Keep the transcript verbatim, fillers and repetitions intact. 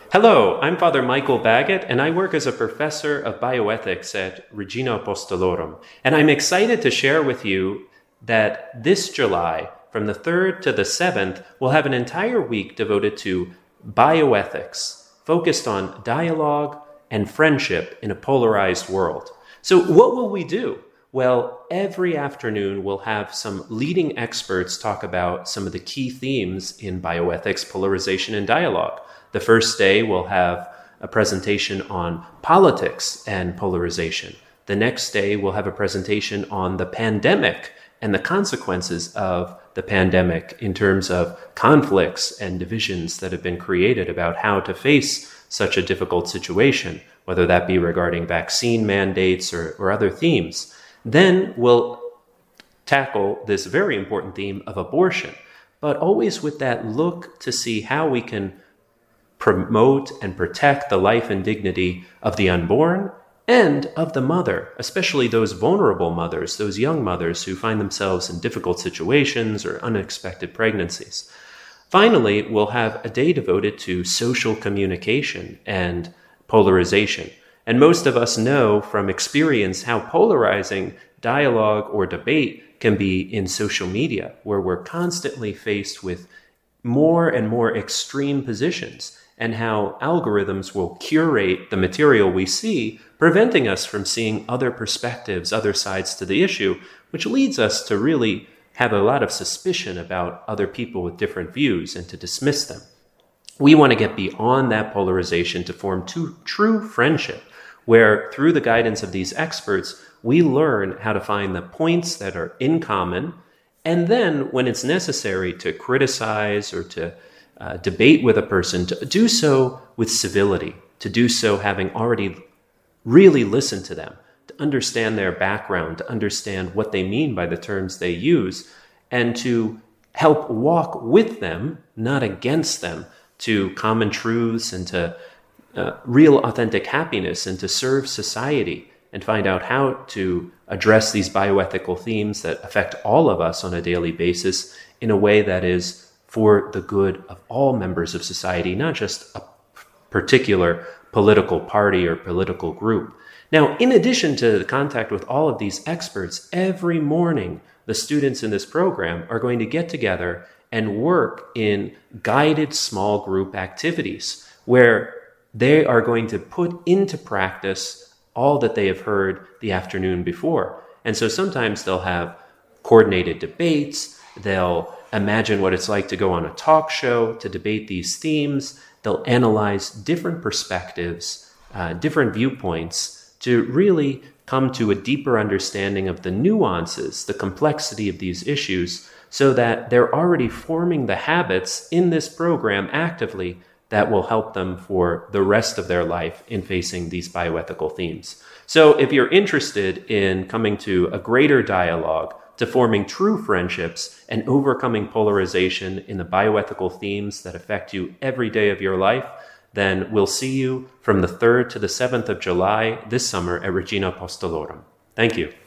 Hello, I'm Father Michael Baggett, and I work as a professor of bioethics at Regina Apostolorum. And I'm excited to share with you that this July, from the third to the seventh, we'll have an entire week devoted to bioethics, focused on dialogue and friendship in a polarized world. So what will we do? Well, every afternoon we'll have some leading experts talk about some of the key themes in bioethics, polarization, and dialogue. The first day we'll have a presentation on politics and polarization. The next day we'll have a presentation on the pandemic and the consequences of the pandemic in terms of conflicts and divisions that have been created about how to face such a difficult situation, whether that be regarding vaccine mandates or, or other themes. Then we'll tackle this very important theme of abortion, but always with that look to see how we can promote and protect the life and dignity of the unborn and of the mother, especially those vulnerable mothers, those young mothers who find themselves in difficult situations or unexpected pregnancies. Finally, we'll have a day devoted to social communication and polarization. And most of us know from experience how polarizing dialogue or debate can be in social media, where we're constantly faced with more and more extreme positions, and how algorithms will curate the material we see, preventing us from seeing other perspectives, other sides to the issue, which leads us to really have a lot of suspicion about other people with different views and to dismiss them. We want to get beyond that polarization to form two, true friendship, where through the guidance of these experts, we learn how to find the points that are in common, and then when it's necessary to criticize or to Uh, debate with a person, to do so with civility, to do so having already really listened to them, to understand their background, to understand what they mean by the terms they use, and to help walk with them, not against them, to common truths and to uh, real authentic happiness, and to serve society and find out how to address these bioethical themes that affect all of us on a daily basis in a way that is for the good of all members of society, not just a particular political party or political group. Now, in addition to the contact with all of these experts, every morning the students in this program are going to get together and work in guided small group activities where they are going to put into practice all that they have heard the afternoon before. And so sometimes they'll have coordinated debates, they'll imagine what it's like to go on a talk show to debate these themes. They'll analyze different perspectives, uh, different viewpoints to really come to a deeper understanding of the nuances, the complexity of these issues, so that they're already forming the habits in this program actively that will help them for the rest of their life in facing these bioethical themes. So if you're interested in coming to a greater dialogue, to forming true friendships and overcoming polarization in the bioethical themes that affect you every day of your life, then we'll see you from the third to the seventh of July this summer at Regina Apostolorum. Thank you.